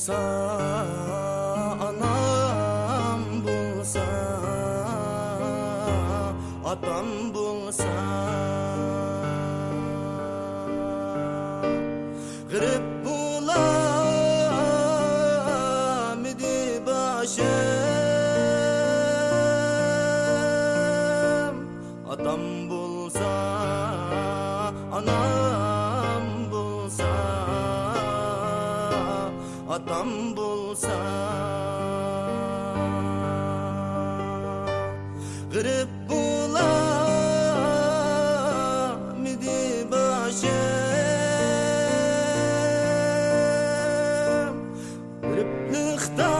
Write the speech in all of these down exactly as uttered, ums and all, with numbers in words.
bulsa, anam bulsa, atam bulsa, garip bulamidi başım. Atam bulsa, anam bulsa, atam bulsa, garip bulamidi başım. Gariplikta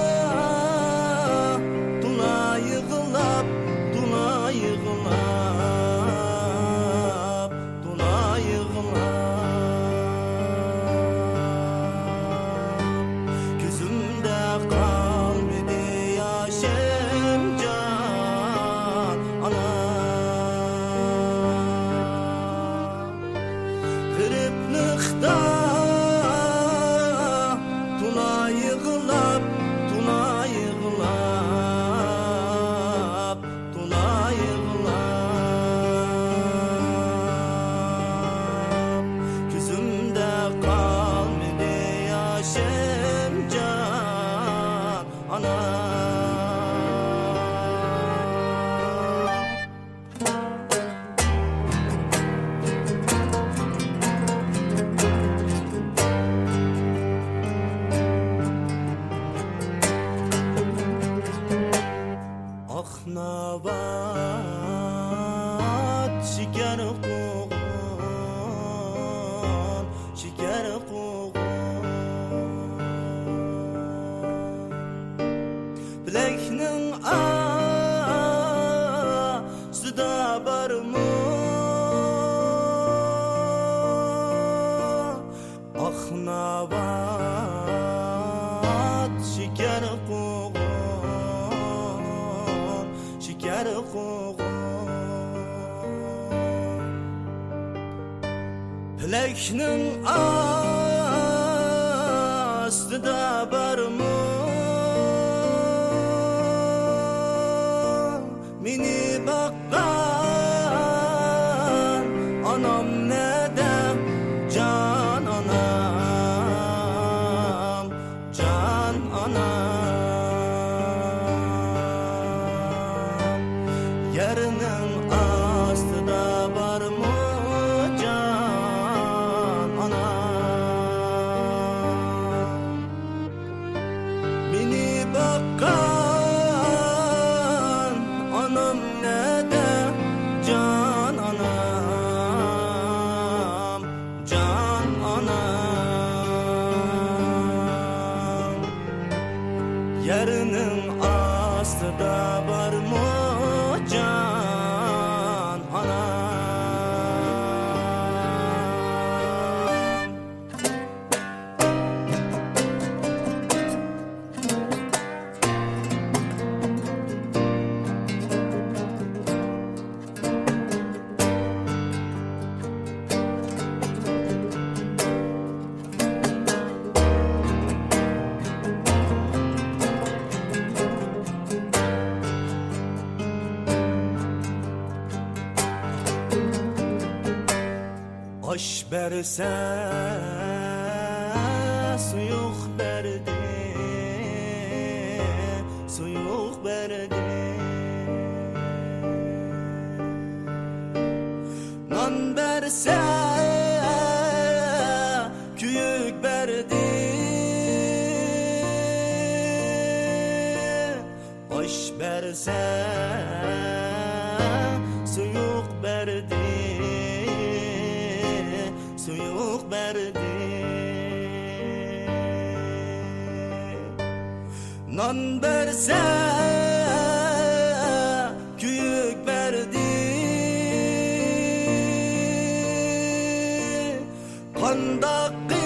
tuna yığılap, tuna yığılap, tuna yığılap. Gözümde kalmadı yaşım can anam. Gariplikta tuna yığılap, tuna yığılap, tuna yığılap. Gözümde kalmadı yaşım can anam. Aknavat şeker koğun, şeker koğun. Bileknin ağzıda barmı, aknavat şeker koğun, şeker koğun. Bileknin ağzıda barmı, meni bakkan anam nedem can anam, can anam. Yerinin astıda barmı can anam. Meni bakkan anam nedem can anam, can anam. Yerinin astıda barmı can anam. Aş berse suyuk berdi, suyuk berdi. Nan berse kuyuk berdi. Aş berse suyuk berdi, suyuk berdi. Nan berse kuyuk berdi. Kandak